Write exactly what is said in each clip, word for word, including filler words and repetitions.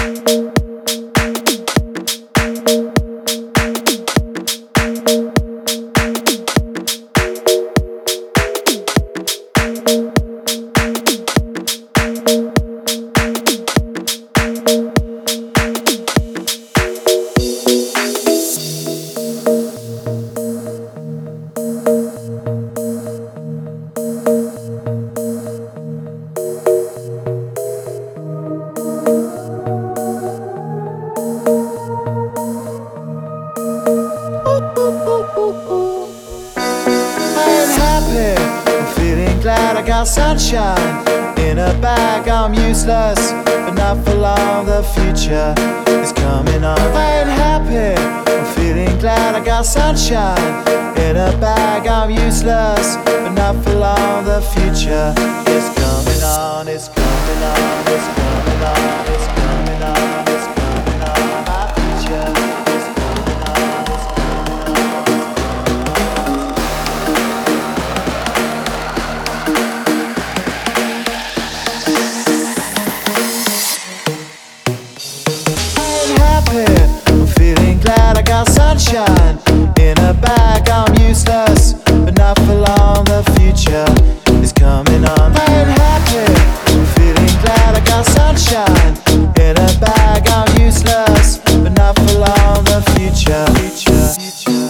Glad I got sunshine in a bag. I'm useless, but not for long. The future is coming on. I ain't happy. I'm feeling glad I got sunshine in a bag. I'm useless, but not for long. The future is coming on. It's coming on. It's coming on. It's coming on. It's coming on. My future is coming on. It's coming on. I'm feeling glad I got sunshine in a bag. I'm useless, but not for long. The future is coming on. I ain't happy. I'm feeling glad I got sunshine in a bag. I'm useless, but not for long. The future, future, future.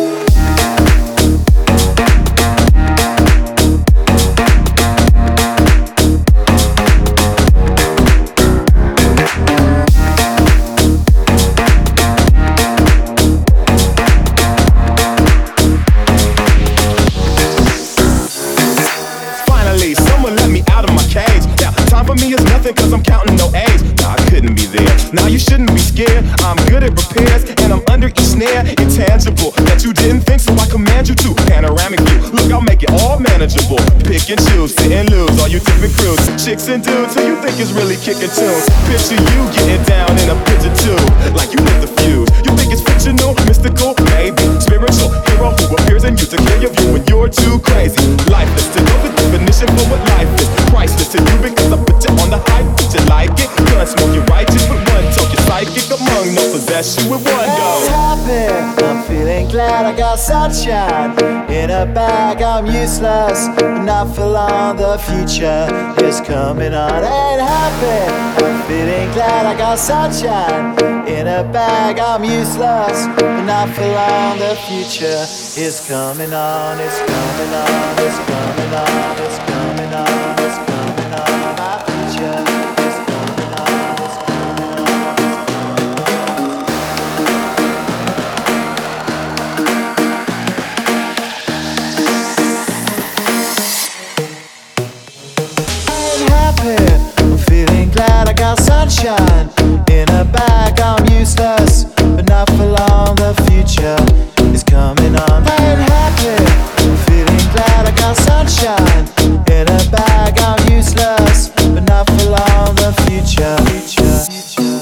Cause I'm counting no A's. Nah, I couldn't be there. Now you shouldn't be scared. I'm good at repairs and I'm under each snare. Intangible that you didn't think, so I command you to. Panoramic view, look, I'll make it all manageable. Pick and choose, sit and lose, all you different crews. Chicks and dudes who you think is really kicking tunes. Picture you getting down in a picture tube, like you lit the fuse. You think it's fictional, mystical, maybe spiritual hero who appears in you to clear your view when you're too crazy. Lifeless to know the definition for what life is. Priceless to you because I put you on the high. Did you like it? Gun smoke, you're righteous with one talk. You're psychic among no possess you with one go. Happy, I'm feeling glad I got sunshine in a bag. I'm useless, but not for long. The future is coming on. Ain't happy, I'm feeling glad I got sunshine in a bag. I'm useless, but not for long. The future is coming on. It's coming on. It's coming on. It's coming on. It's coming on. My future. I'm feeling glad I got sunshine in a bag. I'm useless, but not for long. The future is coming on. I ain't happy. I'm feeling glad I got sunshine in a bag. I'm useless, but not for long. The future, future, future.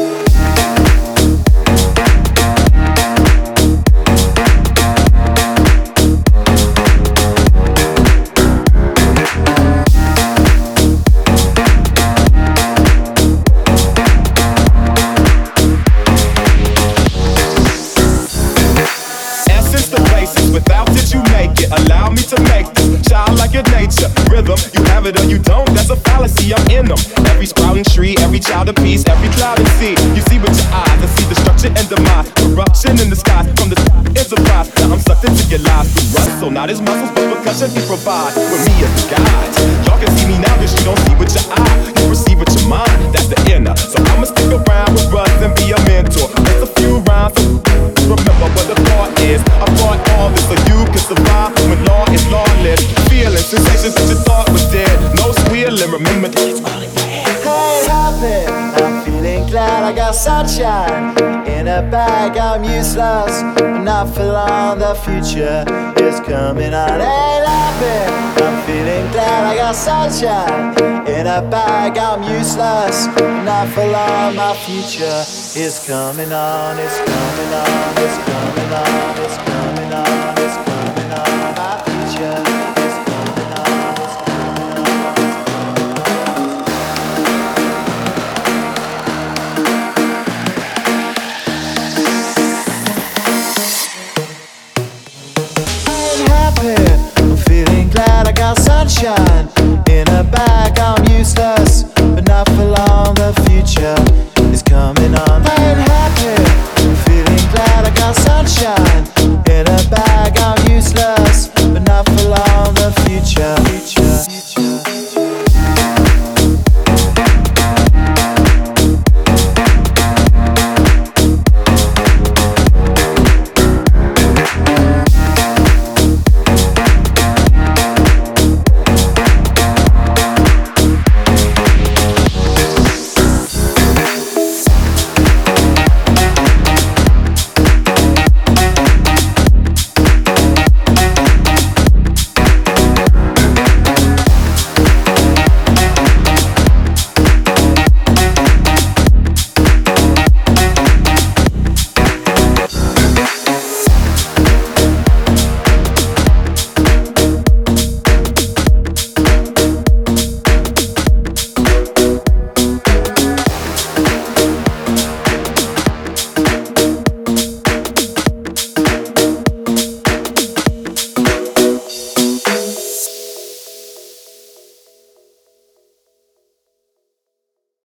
Without it, you make it. Allow me to make this childlike nature. Rhythm, you have it or you don't. That's a fallacy. I'm in them. Every sprouting tree, every child of peace, every cloud and sea. You see with your eyes, I see destruction and demise. Corruption in the sky from the enterprise. Now I'm sucked into your lives through rust. So not his muscles, but percussion he provides. With me as the guide. Y'all can see me now, cause you don't see with your eye. You perceive with your mind. That's the inner. So I'ma stick around with Russ and be a mentor. It's a few rhymes. Remember what the thought is. I brought all this so you can survive when law is lawless. Feelings, sensations that you thought was dead. No squealing, remember that it's all in your head. Hey, happy, I'm feeling glad I got sunshine in a bag. I'm useless, but not for long. The future is coming on. Hey, happy, I'm feeling glad I got sunshine in a bag. I'm useless, but not for long. My future is coming on. It's coming on. It's coming on. It's coming on.